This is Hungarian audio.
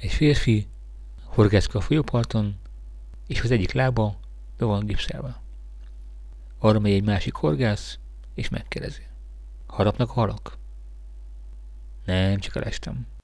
Egy férfi horgászkodik a folyóparton, és az egyik lába be van gipszelve. Arra megy egy másik horgász, és megkérdezi. Harapnak a halak? Nem, csak elestem.